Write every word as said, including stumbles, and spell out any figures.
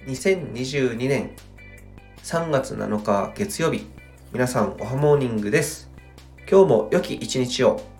にせんにじゅうにねんさんがつなのか月曜日、皆さんおはモーニングです。今日も良き一日を。